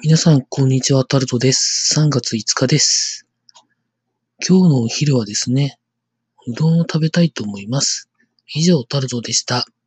皆さん、こんにちは、タルトです。3月5日です。今日のお昼はですね、うどんを食べたいと思います。以上、タルトでした。